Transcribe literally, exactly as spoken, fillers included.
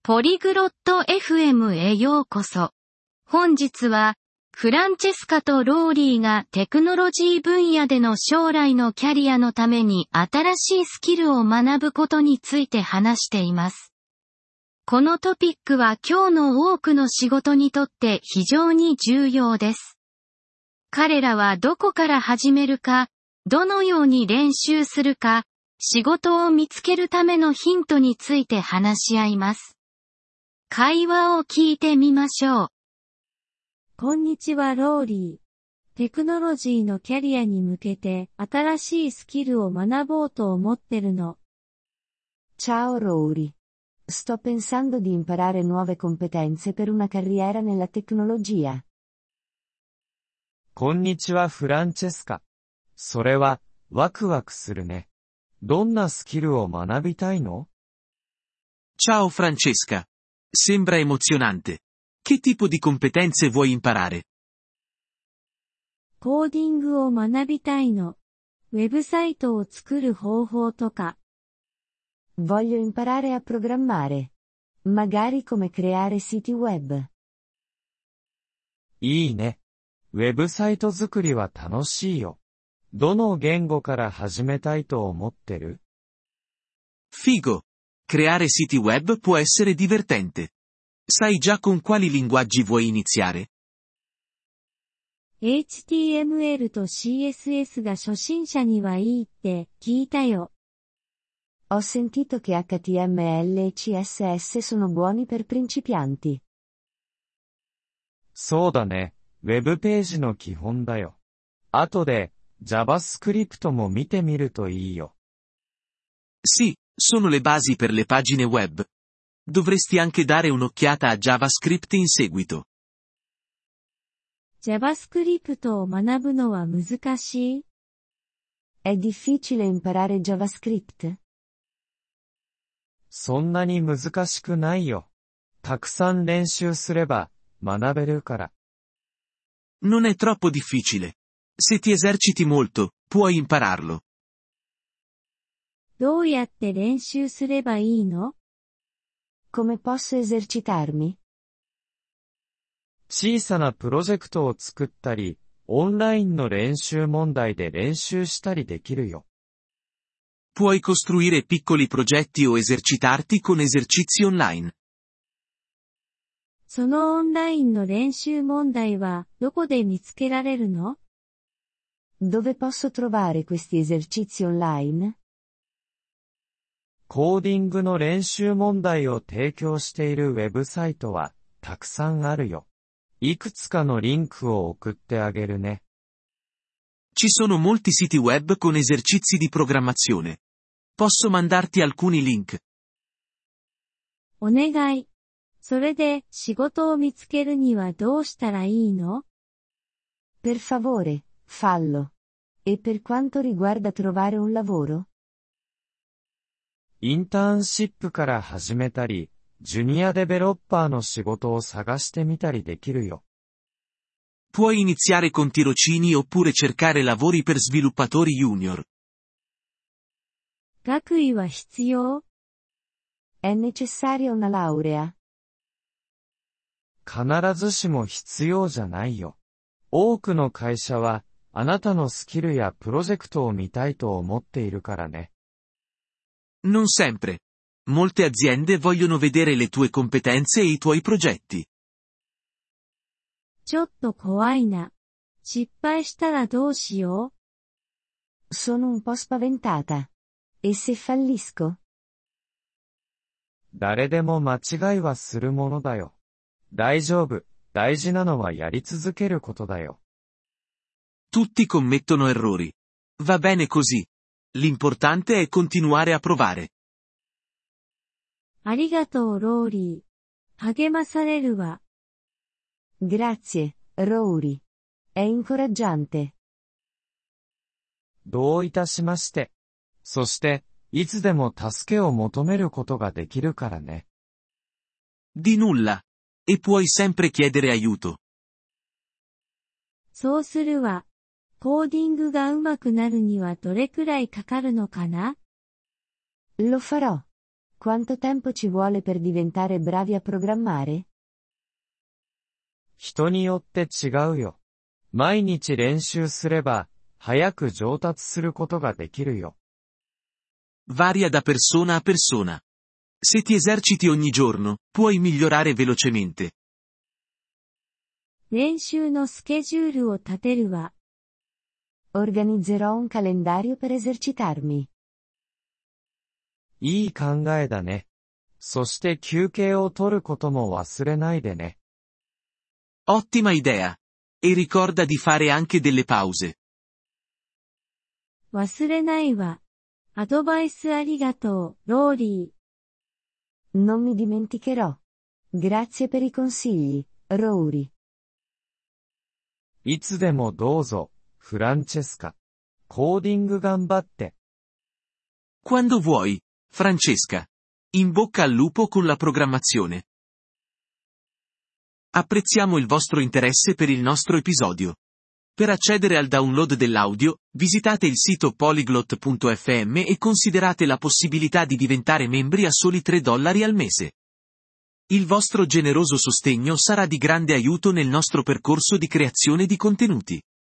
ポリグロット エフエム へようこそ。本日は、フランチェスカとローリーがテクノロジー分野での将来のキャリアのために新しいスキルを学ぶことについて話しています。このトピックは今日の多くの仕事にとって非常に重要です。彼らはどこから始めるか、どのように練習するか、仕事を見つけるためのヒントについて話し合います。会話を聞いてみましょう。 こんにちはローリー。テクノロジーのキャリアに向けて新しいスキルを学ぼうと思ってるの。 Ciao Rory. Sto pensando di imparare nuove competenze per una carriera nella tecnologia. こんにちはフランチェスカ。それは、ワクワクするね。どんなスキルを学びたいの？ Ciao Francesca. Sembra emozionante. Che tipo di competenze vuoi imparare? コーディングを学びたいの。ウェブサイトを作る方法とか。 Voglio imparare a programmare. Magari come creare siti web. いいね。ウェブサイト作りは楽しいよ。どの言語から始めたいと思ってる？ Figo. Creare siti web può essere divertente. Sai già con quali linguaggi vuoi iniziare? エイチティーエムエル と シーエスエス が初心者にはいいって聞いたよ。 Ho sentito cheエイチティーエムエル e シーエスエス sono buoni per principianti. そうだね。ウェブページの基本だよ。後で JavaScript も見てみるといいよ。 Sì, sono le basi per le pagine web. Dovresti anche dare un'occhiata a JavaScript in seguito. JavaScript を学ぶのは難しい？ È difficile imparare JavaScript? そんなに難しくないよ。たくさん練習すれば学べるから。 Non è troppo difficile. Se ti eserciti molto, puoi impararlo. どうやって練習すればいいの？ Come posso esercitarmi? 小さなプロジェクトを作ったり、オンラインの練習問題で練習したりできるよ。 Puoi costruire piccoli progetti o esercitarti con esercizi online. そのオンラインの練習問題はどこで見つけられるの？ Dove posso trovare questi esercizi online? コーディングの練習問題を提供しているウェブサイトはたくさんあるよ。いくつかのリンクを送ってあげるね。 Ci sono molti siti web con esercizi di programmazione. Posso mandarti alcuni link. お願い。それで仕事を見つけるにはどうしたらいいの？ Per favore, fallo. E per quanto riguarda trovare un lavoro? インターンシップから始めたり、ジュニアデベロッパーの仕事を探してみたりできるよ。 Puoi iniziare con tirocini oppure cercare lavori per sviluppatori junior. 学位は必要？ È necessaria una laurea? 必ずしも必要じゃないよ。多くの会社は、あなたのスキルやプロジェクトを見たいと思っているからね。 Non sempre. Molte aziende vogliono vedere le tue competenze e i tuoi progetti. ちょっと怖いな。失敗したらどうしよう？ Sono un po' spaventata. E se fallisco? 誰でも間違いはするものだよ。大丈夫。大事なのはやり続けることだよ。 Tutti commettono errori. Va bene così. L'importante è continuare a provare. ありがとうローリー。励まされるわ。 Grazie, Rory. È incoraggiante. どういたしまして。そして、いつでも助けを求めることができるからね。 Di nulla. E puoi sempre chiedere aiuto. そうするわ。コーディングが上手くなるにはどれくらいかかるのかな？ Lo farò. Quanto tempo ci vuole per diventare bravi a programmare? 人によって違うよ。毎日練習すれば、早く上達することができるよ。 Varia da persona a persona. Se ti eserciti ogni giorno, puoi migliorare velocemente. 練習のスケジュールを立てるわ。 Organizzerò un calendario per esercitarmi. いい考えだね。そして休憩を取ることも忘れないでね。 Ottima idea. E ricorda di fare anche delle pause. 忘れないわ。アドバイスありがとう、ローリー。 Non mi dimenticherò. Grazie per i consigli, Rory. いつでもどうぞ、フランチェスカ。コーディング頑張って。 Quando vuoi, Francesca. In bocca al lupo con la programmazione. Apprezziamo il vostro interesse per il nostro episodio. Per accedere al download dell'audio, visitate il sito polyglot punto effe emme e considerate la possibilità di diventare membri a soli tre dollari al mese. Il vostro generoso sostegno sarà di grande aiuto nel nostro percorso di creazione di contenuti.